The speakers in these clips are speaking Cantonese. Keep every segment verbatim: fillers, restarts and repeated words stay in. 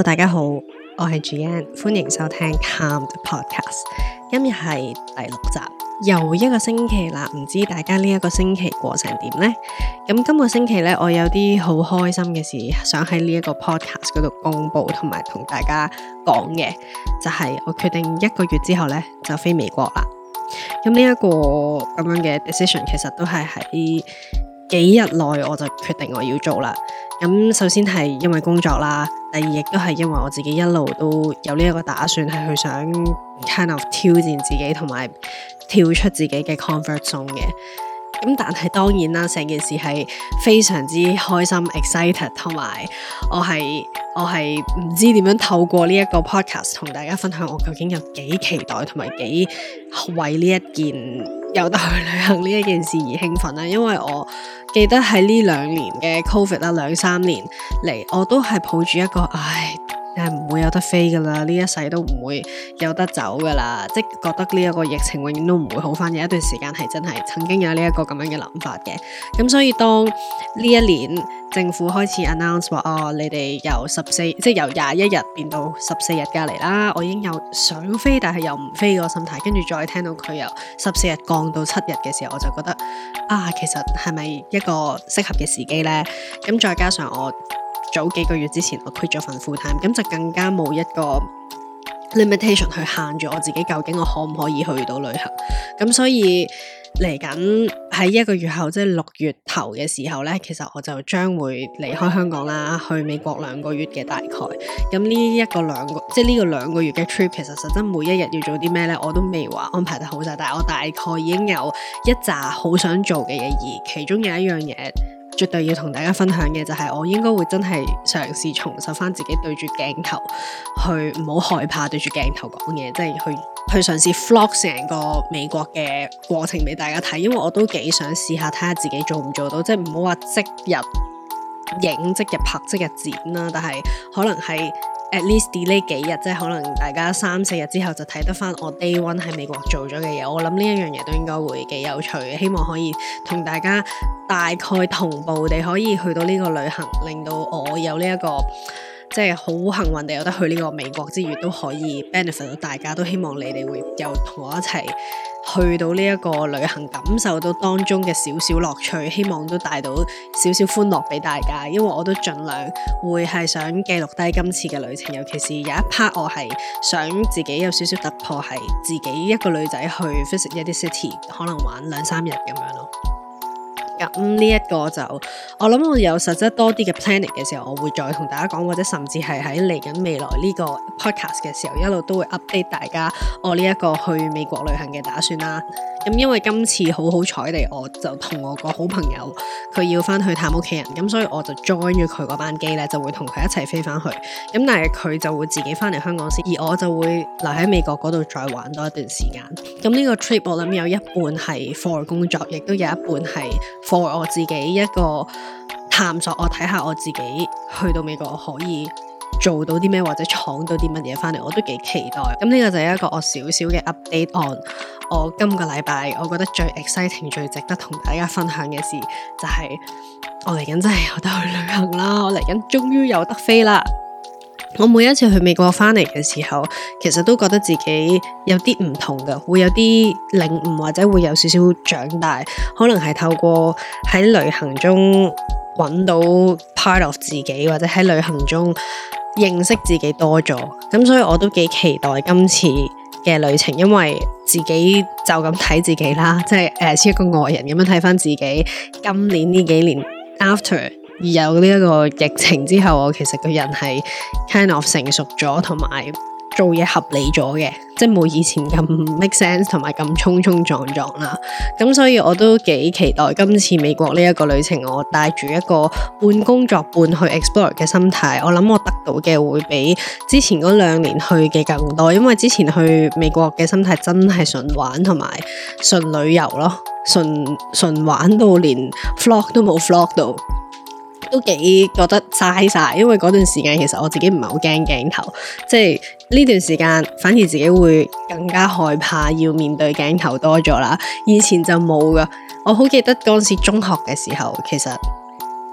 大家好，我係 Gian， 歡迎收聽 Calmed Podcast。今日係第六集，又一個星期啦，唔知大家呢一個星期過成點呢？咁今個星期呢，我有啲好開心嘅事，想喺呢一個 podcast 嗰度公布，同埋同大家講嘅，就係、是、我決定一個月之後呢，就飛美國啦。咁呢一個咁樣嘅 decision， 其實都係喺幾日內我就決定我要做啦。咁首先係因為工作啦，第二亦都係因為我自己一路都有呢一個打算，係去想 kind of 挑戰自己，同埋跳出自己嘅 comfort zone 嘅。咁但係當然啦，成件事係非常之開心 excited， 同埋我係我係唔知點樣透過呢一個 podcast 同大家分享我究竟有幾期待，同埋幾為呢一件有得去旅行呢一件事而興奮啦。因為我記得喺呢兩年嘅 COVID 啦，兩三年嚟我都係抱住一個唉，係唔會有得飛噶啦，呢一世都唔會有得走噶啦，即係覺得呢一個疫情永遠都唔會好翻。有一段時間係真係曾經有呢一個咁樣嘅諗法嘅。咁所以當呢一年政府開始 announce 話哦，你哋由十四即係由廿一日變到十四日隔離啦，我已經有想飛但係又唔飛個心態，跟住再聽到佢由十四日降到七日嘅時候，我就覺得啊，其實係咪一個適合嘅時機呢？咁再加上我早幾個月之前我 quit 咗份 full time， 咁就更加冇一個 limitation 去限住我自己究竟我可唔可以去到旅行。咁所以嚟緊喺一個月後，即係六月頭嘅時候呢，其實我就將會離開香港啦，去美國兩個月嘅大概。咁呢一個兩個即係呢個兩個月嘅 trip， 其實實質每一日要做啲咩呢，我都未話安排得好晒，但係我大概已經有一紮好想做嘅嘢，而其中有一樣嘢絕對要同大家分享嘅就係我應該會真係嘗試重拾翻自己對住鏡頭去，唔好害怕對住鏡頭講嘢，即係去去嘗試 vlog 成個美國嘅過程俾大家睇，因為我都幾想試下睇下自己做唔做到，即係唔好話即日影、即日拍、即日剪啦，但係可能係at least delay 幾日，即係可能大家三四日之後就睇得翻我 day one 喺美國做咗嘅嘢。我諗呢一樣嘢都應該會幾有趣嘅，希望可以同大家大概同步地可以去到呢個旅行，令到我有呢、這、一個即係好幸運地有得去呢個美國之餘，都可以 benefit 到大家。都希望你哋會有同我一齊去到呢一個旅行，感受到當中嘅少少樂趣，希望都帶到少少歡樂俾大家。因為我都盡量會係想記錄低今次嘅旅程，尤其是有一 part 我係想自己有少少突破，係自己一個女仔去 visit 一啲 city， 可能玩兩三日咁樣咯。咁呢一個就我諗我有實質多啲嘅 planning 嘅時候，我會再同大家講，或者甚至係喺嚟緊未來呢個 podcast 嘅時候，一路都會 update 大家我呢一個去美國旅行嘅打算啦。咁因為今次好好彩地，我就同我個好朋友佢要翻去探屋企人，咁所以我就 join 咗佢嗰班機咧，就會同佢一齊飛翻去。咁但係佢就會自己翻嚟香港先，而我就會留喺美國嗰度再玩多一段時間。咁呢個 trip 我諗有一半係 for 工作，亦都有一半係for 我自己一個探索，我睇下我自己去到美國可以做到啲咩，或者闖到啲乜嘢翻嚟，我都幾期待。咁呢個就係一個我少少嘅 update on 我今個禮拜我覺得最 exciting 最值得同大家分享嘅事，就係我嚟緊真係有得去旅行啦，我嚟緊終於有得飛啦。我每一次去美國翻嚟嘅時候，其實都覺得自己有啲唔同㗎，會有啲領悟，或者會有少少長大，可能係透過喺旅行中揾到 part of 自己，或者喺旅行中認識自己多咗。咁所以我都幾期待今次嘅旅程，因為自己就咁睇自己啦，即係誒似一個外人咁樣睇翻自己今年呢幾年 after而有呢一個疫情之後，我其實個人係 kind of 成熟咗，同埋做嘢合理咗嘅，即係冇以前咁 make sense 同埋咁衝衝撞撞啦。咁所以我都幾期待今次美國呢一個旅程，我帶住一個半工作半去 explore 嘅心態，我諗我得到嘅會比之前嗰兩年去嘅更多，因為之前去美國嘅心態真係純玩同埋純旅遊咯，純純玩到連 vlog 都冇 vlog 到。都幾覺得嘥晒，因為嗰段時間其實我自己唔係好驚鏡頭，即係呢段時間反而自己會更加害怕要面對鏡頭多咗啦。以前就冇噶，我好記得嗰陣時中學嘅時候，其實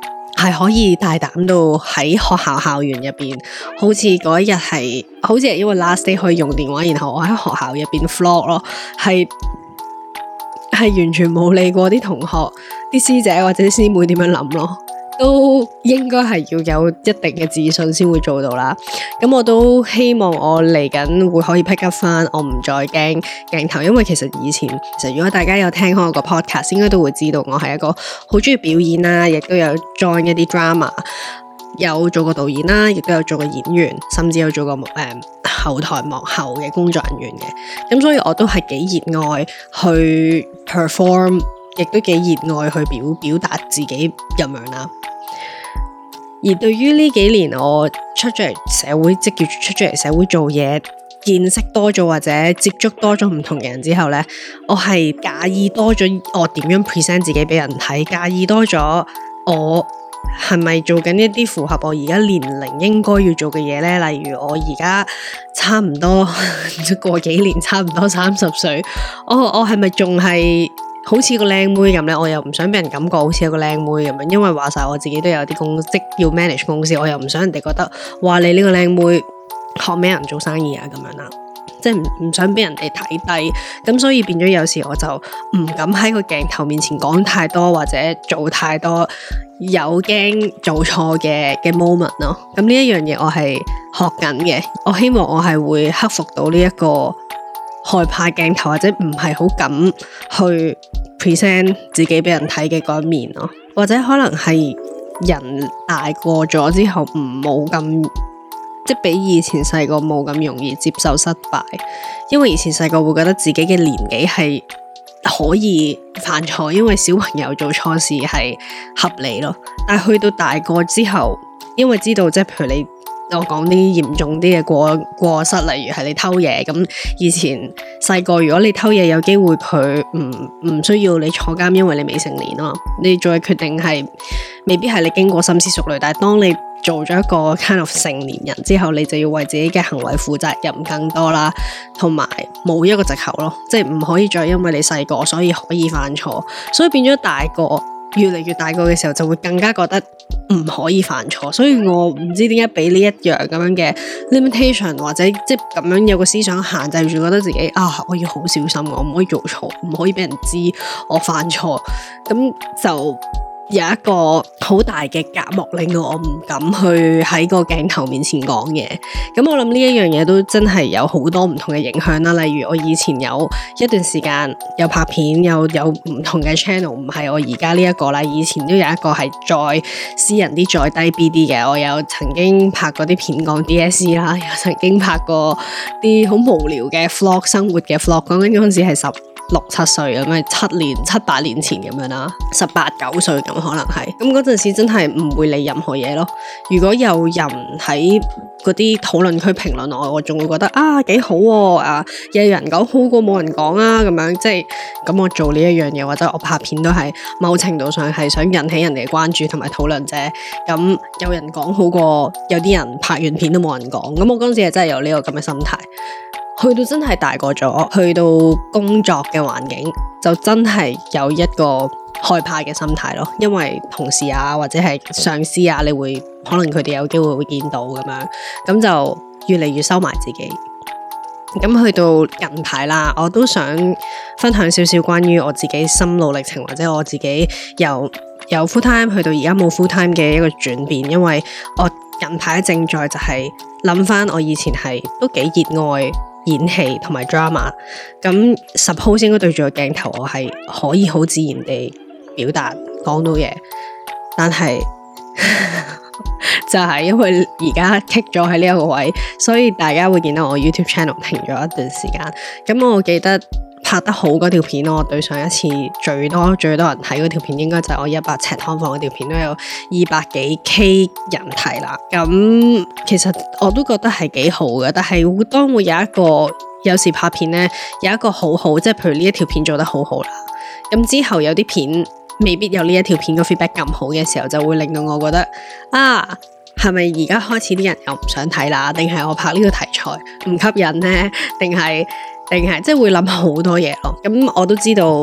係可以大膽到喺學校校園入邊，好似嗰一日係，好似係因為 last day 可以用電話，然後我喺學校入邊 vlog 咯，係係完全冇理過啲同學、啲師姐或者啲師妹點樣諗咯。都應該係要有一定嘅自信先會做到啦。咁我都希望我嚟緊會可以 pick up 翻，我唔再驚鏡頭，因為其實以前其實如果大家有聽開我個 podcast，應該都會知道我係一個好中意表演啦，亦都有 join 一啲 drama， 有做過導演啦，亦都有做過演員，甚至有做過誒、呃、後台幕後嘅工作人員嘅。咁所以我都係幾熱愛去 perform， 亦都幾熱愛去表表達自己咁樣啦。而對於呢幾年我出咗嚟社會，即叫出咗嚟社會做嘢，見識多咗或者接觸多咗唔同嘅人之後呢，我係介意多咗我點樣 present 自己俾人睇，介意多咗我係咪做緊一啲符合我而家年齡應該要做嘅嘢呢？例如我而家差唔多過幾年，差唔多三十歲，我我係咪仲係好似個靚妹咁呢？我又唔想俾人感覺好似一個靚妹咁樣，因為話晒我自己都有啲公職要 manage 公司，我又唔想人哋覺得話你呢個靚妹學咩人做生意啊咁樣啦，即係唔唔想俾人哋睇低，咁所以變咗有時我就唔敢喺個鏡頭面前講太多或者做太多有驚做錯嘅嘅 moment 咯。咁呢一樣嘢我係學緊嘅，我希望我係會克服到呢一個害怕鏡頭或者唔係好敢去 present 自己俾人睇嘅嗰一面咯，或者可能係人大過咗之後唔冇咁，即係比以前細個冇咁容易接受失敗，因為以前細個會覺得自己嘅年紀係可以犯錯，因為小朋友做錯事係合理咯。但係去到大個之後，因為知道即係譬如你我講啲嚴重啲嘅過過失，例如係你偷嘢，咁以前細個如果你偷嘢有機會佢唔唔需要你坐監，因為你未成年啊嘛，你做嘅決定係未必係你經過深思熟慮，但係當你做咗一個 kind of 成年人之後，你就要為自己嘅行為負責任更多啦，同埋冇一個藉口咯，即係唔可以再因為你細個所以可以犯錯，所以變咗大個越嚟越大個嘅時候就會更加覺得唔可以犯錯，所以我唔知點解俾呢一樣咁樣嘅 limitation 或者即係咁樣有個思想限制住，覺得自己啊我要好小心，我唔可以做錯，唔可以俾人知我犯錯，咁就有一個好大嘅隔膜，令到我唔敢去喺個鏡頭面前講嘢。咁我諗呢一樣嘢都真係有好多唔同嘅影響啦。例如我以前有一段時間有拍片，有有唔同嘅 channel， 唔係我而家呢一個啦。以前都有一個係再私人啲、再低 B 啲嘅。我有曾經拍過啲片講 D S C 啦，有曾經拍過啲好無聊嘅 vlog， 生活嘅 vlog。講緊嗰陣時係十六七歲咁樣，七年七八年前咁樣啦，十八九歲咁可能係，咁嗰陣時真係唔會理任何嘢咯。如果有人喺嗰啲討論區評論我，我仲會覺得啊幾好喎，啊有人講好過冇人講啊咁樣，即係咁我做呢一樣嘢或者我拍片都係某程度上係想引起人哋嘅關注同埋討論啫。咁有人講好過有啲人拍完片都冇人講，咁我嗰陣時係真係有呢個咁嘅心態。去到真係大個咗，去到工作嘅環境就真係有一個害怕嘅心態咯，因為同事啊或者係上司啊，你會可能佢哋有機會會見到咁樣，咁就越嚟越收埋自己。咁去到近排啦，我都想分享少少關於我自己心路歷程，或者我自己由由 full time 去到而家冇 full time 嘅一個轉變，因為我近排正在就係諗翻我以前係都幾熱愛演戲同埋 drama， 咁 suppose 應該對住個鏡頭我係可以好自然地表達講到嘢，但係就係因為而家 kick 咗喺呢一個位，所以大家會見到我 YouTube channel 停咗一段時間。咁我記得拍得好嗰條片，我對上一次最多最多人睇嗰條片，應該就係我一百尺劏房嗰條片，都有二百幾 K 人睇啦。咁其實我都覺得係幾好嘅，但係當會有一個有時拍片呢，有一個好好，即係譬如呢一條片做得好好啦，咁之後有啲片未必有呢一條片個 feedback 咁好嘅時候，就會令到我覺得啊，係咪而家開始啲人又唔想睇啦？定係我拍呢個題材唔吸引呢？定係定係即係會諗好多嘢咯。咁我都知道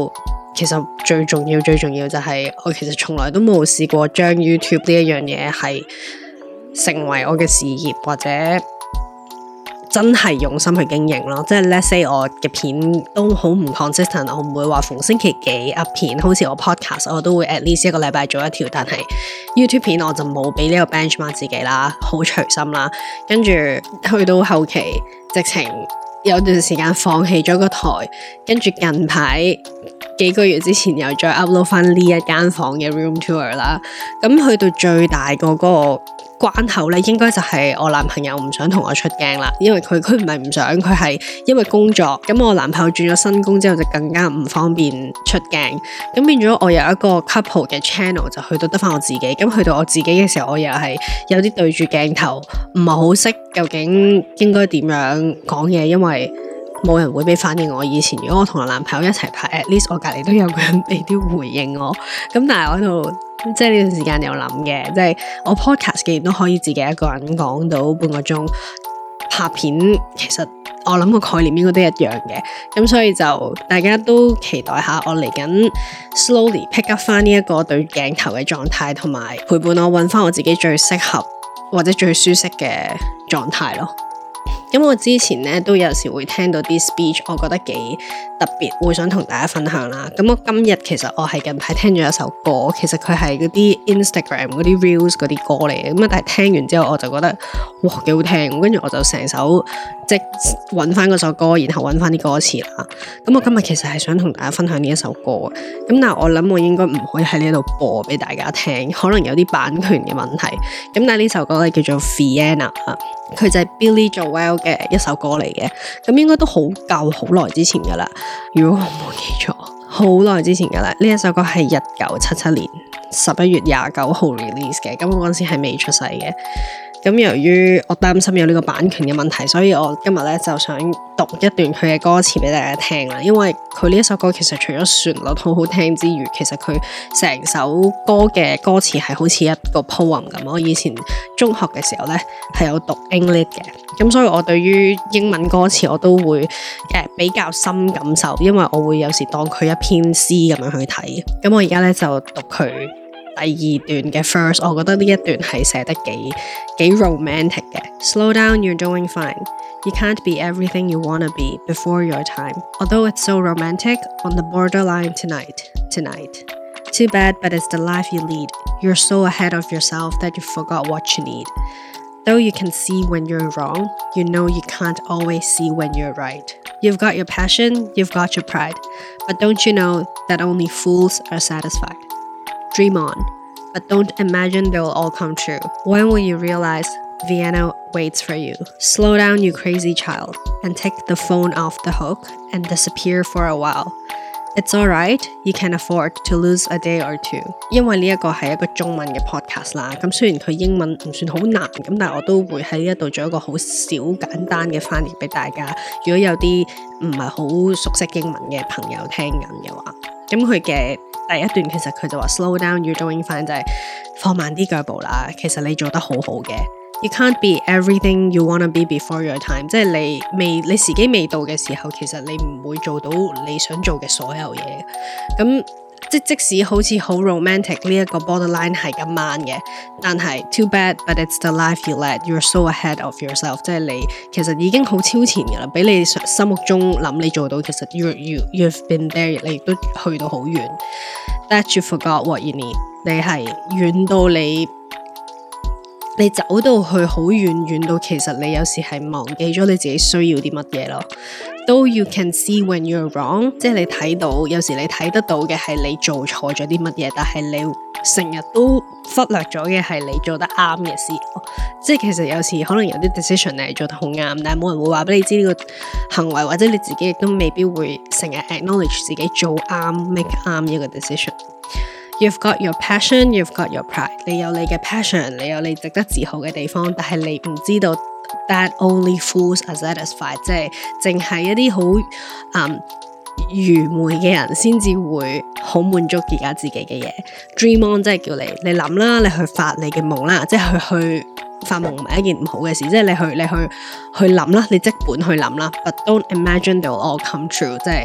其實最重要最重要就係我其實從來都冇試過將 YouTube 呢一樣嘢係成為我嘅事業，或者真係用心去經營咯。即係 let's say 我嘅片都好唔 consistent， 我唔會話逢星期幾 up 片，好似我 podcast 我都會 at least 一個禮拜做一條，但係 YouTube 片我就冇俾呢個 benchmark 自己啦，好隨心啦。跟住去到後期直情有段時間放棄咗個台，跟住近排幾個月之前又再 upload 翻呢一間房嘅 room tour 啦。咁去到最大個嗰個關口咧，應該就係我男朋友唔想同我出鏡啦，因為佢佢唔係唔想，佢係因為工作。咁我男朋友轉咗新工之後就更加唔方便出鏡，咁變咗我有一個 couple 嘅 channel 就去到得翻我自己。咁去到我自己嘅時候，我又係有啲對住鏡頭唔係好識究竟應該點樣講嘢，因為冇人會俾反應我。以前如果我同我男朋友一齊拍 at least 我隔籬都有個人俾啲回應我。咁但係我喺度即係呢段時間有諗嘅，即係我 podcast 既然都可以自己一個人講到半個鐘，拍片其實我諗個概念應該都一樣嘅。咁所以就大家都期待下我嚟緊 slowly pick up 翻呢一個對鏡頭嘅狀態，同埋陪伴我揾翻我自己最適合或者最舒適嘅狀態咯。咁我之前咧都有時會聽到啲 speech， 我覺得幾特別，會想同大家分享啦。咁我今日其實我係近排聽咗一首歌，其實佢係嗰啲 Instagram 嗰啲 reels 嗰啲歌嚟嘅。咁啊，但係聽完之後我就覺得哇幾好聽，跟住我就成首即係揾翻嗰首歌，然後揾翻啲歌詞啦。咁我今日其實係想同大家分享呢一首歌，咁但係我諗我應該唔可以喺呢度播俾大家聽，可能有啲版權嘅問題。咁但係呢首歌咧叫做 Vienna 啊，佢就係 Billy Joel 嘅一首歌嚟嘅，咁應該都好舊好耐之前噶啦，如果我冇記錯，好耐之前噶啦。呢一首歌係一九七七年十一月廿九號 release 嘅，咁我嗰陣時係未出世嘅。咁由於我擔心有呢個版權嘅問題，所以我今日咧就想讀一段佢嘅歌詞俾大家聽啦。因為佢呢一首歌其實除咗旋律好好聽之餘，其實佢成首歌嘅歌詞係好似一個 poem 咁。我以前中學嘅時候咧係有讀 English 嘅，咁所以我對於英文歌詞我都會誒、呃、比較深感受，因為我會有時當佢一篇詩咁樣去睇。咁我而家咧就讀佢第二段嘅 first， 我覺得呢一段係寫得幾幾 romantic 嘅。Slow down, you're doing fine. You can't be everything you wanna be before your time. Although it's so romantic, on the borderline tonight, tonight. Too bad, but it's the life you lead. You're so ahead of yourself that you forgot what you need. Though you can see when you're wrong, you know you can't always see when you're right. You've got your passion, you've got your pride. But don't you know that only fools are satisfied?Dream on, but don't imagine they'll all come true. When will you realize Vienna waits for you? Slow down, you crazy child, and take the phone off the hook and disappear for a while. It's alright, you can afford to lose a day or two. 因為呢一個係一個中文嘅 podcast 啦，咁雖然佢英文唔算好難，咁但係我都會喺呢一度做一個好小簡單嘅翻譯俾大家。如果有啲唔係好熟悉英文嘅朋友聽緊嘅話，咁佢嘅第一段其實佢就話 slow down, you're doing fine， 就係放慢啲腳步啦。其實你做得好好嘅。You can't be everything you wanna be before your time， 即係你未你時機未到嘅時候，其實你唔會做到你想做嘅所有嘢。咁即即使好似好 romantic 呢一個 borderline 係咁慢嘅，但係 too bad but it's the life you led. You're so ahead of yourself， 即係你其實已經好超前㗎啦，比你心目中諗你做到，其實 you you you've been there， 你亦都去到好遠。That you forgot what you need， 你係遠到你。你走到去好遠，遠到其實你有時係忘記咗你自己需要啲乜嘢咯。Though you can see when you're wrong， 即係你睇到，有時你睇得到嘅係你做錯咗啲乜嘢，但係你成日都忽略咗嘅係你做得啱嘅事咯。即係其實有時可能有啲 decision 你係做得好啱，但係冇人會話俾你知呢個行為，或者你自己亦都未必會成日 acknowledge 自己做啱 make 啱一個 decision。You've got your passion, you've got your pride。你有你嘅 passion， 你有你值得自豪嘅地方，但係你唔知道 that only fools are satisfied， 即係淨係一啲好嗯愚昧嘅人先至會好滿足而家自己嘅嘢。Dream on 即係叫你你諗啦，你去發你嘅夢啦，即係去去發夢唔係一件唔好嘅事，即係你去你去去諗啦，你即本去諗啦。But don't imagine they'll all come true， 即係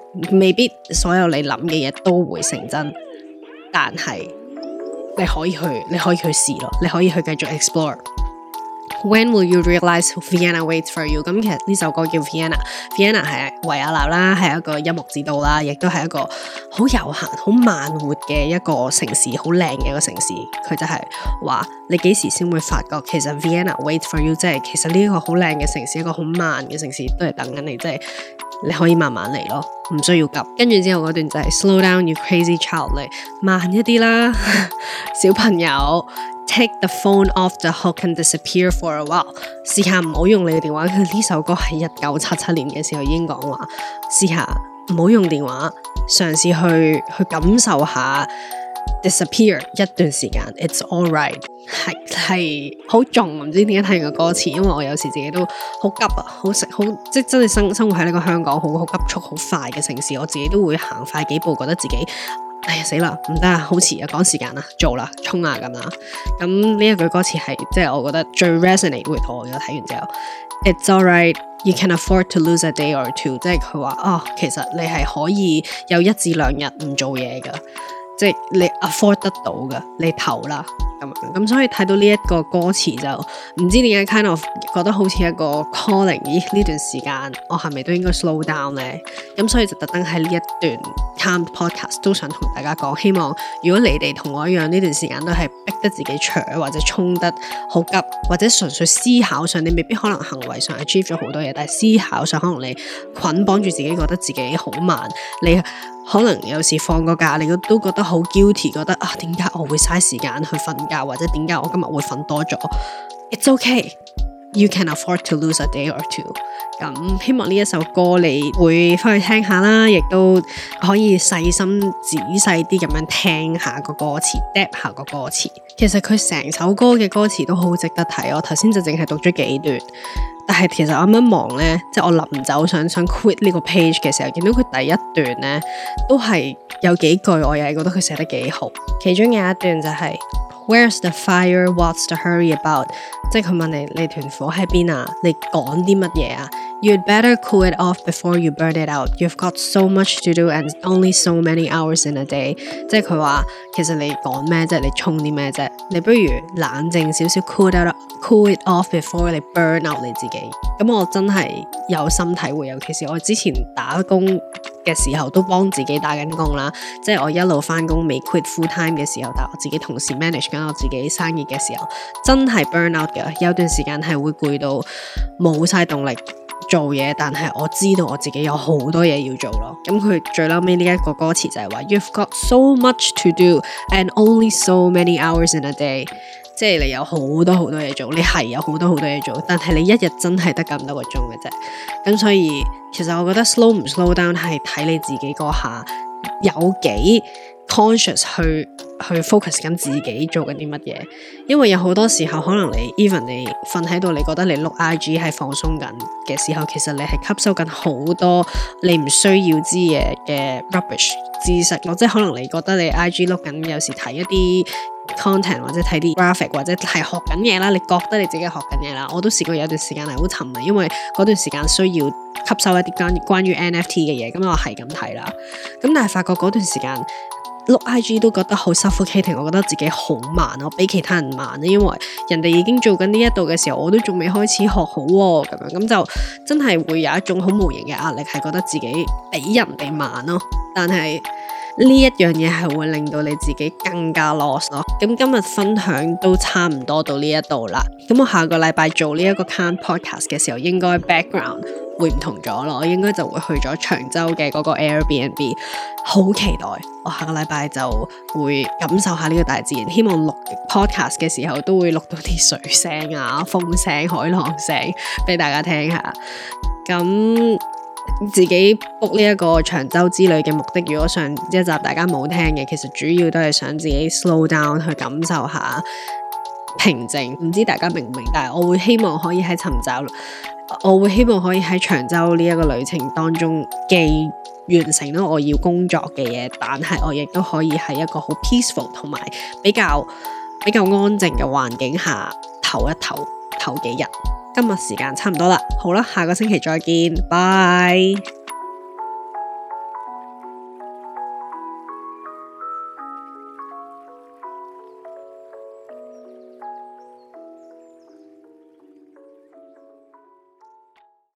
未必所有你諗嘅嘢都會成真，但係你可以去，你可以去試咯，你可以去繼續 explore。When will you realize Vienna waits for you？ 咁其實呢首歌叫 Vienna，Vienna 係維也納啦，係一個音樂之都啦，亦都係一個好悠閒、好慢活嘅一個城市，好靚嘅一個城市。佢就係話你幾時先會發覺，其實 Vienna waits for you， 即係其實呢個好靚嘅城市，一個好慢嘅城市都係等緊你，即係你可以慢慢嚟咯，唔需要急。跟住之後嗰段就係 Slow down you crazy child， 嚟慢一啲啦，小朋友。Take the phone off the hook and disappear for a while。試下唔好用你嘅電話。佢呢首歌係一九七七年嘅時候已經講話，試下唔好用電話，嘗試去去感受下 disappear 一段時間。It's alright， 係係好重，唔知點解睇完個歌詞，因為我有時自己都好急啊，好食好即係真係生生活喺呢個香港好好急速好快嘅城市，我自己都會行快幾步，覺得自己。哎呀死啦，唔得啊，好遲啊，趕時間啦，做啦，衝啊咁啦。咁呢一句歌詞係即係我覺得最 resonate with 我嘅，睇完之後 ，It's alright, you can afford to lose a day or two， 即係佢話哦，其實你係可以有一至兩日唔做嘢噶，即係你 afford 得到噶，你投啦咁樣。咁所以睇到呢一個歌詞就唔知點解 kind of 覺得好似一個 calling， 咦呢段時間我係咪都應該 slow down 呢？咁所以就特登喺呢一段 Calmed podcast 都想同大家講，希望如果你哋同我一樣呢段時間都係逼得自己搶或者衝得好急，或者純粹思考上你未必可能行為上 achieve 咗好多嘢，但係思考上可能你捆綁住自己，覺得自己好慢，你可能有時放個假你都覺得好 guilty， 覺得啊點解我會嘥時間去瞓覺，或者點解我今日會瞓多咗。It's okay, you can afford to lose a day or two。 咁希望呢一首歌你會翻去聽下啦，亦都可以細心仔細啲咁樣聽下個歌詞 depth 下個歌詞。其實佢成首歌嘅歌詞都好值得睇，我頭先就淨係讀咗幾段，但係其實我啱啱望呢，即係我臨走想想 quit 呢個 page 嘅時候，見到佢第一段呢都係有幾句我又係覺得佢寫得幾好。其中有一段就係、是Where's the fire? What's the hurry about? 即係佢問你，你團火喺邊啊？你趕啲乜嘢啊？ You'd better cool it off before you burn it out. You've got so much to do and only so many hours in a day. 即係佢話，其實你趕咩啫？你衝啲咩啫？你不如冷靜少少 cool it out, cool it off before 你 burn out 你自己。咁我真係有心體會，尤其是我之前打工嘅時候都幫自己打緊工啦，即係我一路翻工未 quit full time 嘅時候，但係我自己同時 manage 緊我自己生意嘅時候，真係 burn out 嘅，有段時間係會攰到冇晒動力做嘢，但係我知道我自己有好多嘢要做咯。咁佢最後尾呢一個歌詞就係話 You've got so much to do and only so many hours in a day， 即係你有好多好多嘢做，你係有好多好多嘢做，但係你一日真係得咁多個鐘嘅啫。咁所以其實我覺得 slow 唔 slow down 係睇你自己嗰下有幾 conscious 去去 focus 緊自己做緊啲乜嘢，因為有好多時候可能你 even 你瞓喺度，你覺得你碌 I G 係放鬆緊嘅時候，其實你係吸收緊好多你唔需要知嘢嘅 rubbish 知識咯，即係可能你覺得你 I G 碌緊，有時睇一啲 content 或者睇啲 graphic 或者係學緊嘢啦，你覺得你自己學緊嘢啦，我都試過有段時間係好沉迷，因為嗰段時間需要吸收一啲關關於 N F T 嘅嘢，咁我係咁睇啦，咁但係發覺嗰段時間碌 I G 都覺得好 suffocating， 我覺得自己好慢，我比其他人慢，因為人哋已經做緊呢一度嘅時候，我都仲未開始學好喎，咁樣咁就真係會有一種好無形嘅壓力，係覺得自己比人哋慢咯，但係呢一樣嘢係會令到你自己更加 lost 咯。咁今日分享都差唔多到呢一度啦。咁我下個禮拜做呢一個 Calmed podcast 嘅時候，應該 background 會唔同咗咯。我應該就會去咗長洲嘅嗰個 Airbnb， 好期待。我下個禮拜就會感受下呢個大自然。希望錄 podcast 嘅時候都會錄到啲水聲啊、風聲、海浪聲俾大家聽下。咁自己 book 呢一個長洲之旅嘅目的，如果上一集大家冇聽嘅，其實主要都係想自己 slow down 去感受下平靜。唔知大家明唔明？但係我會希望可以喺尋找，我會希望可以喺長洲呢一個旅程當中既完成到我要工作嘅嘢，但係我亦都可以喺一個好 peaceful 同埋比較比較安靜嘅環境下唞一唞，唞幾日。今日時間差唔多啦，好啦，下個星期再見，拜。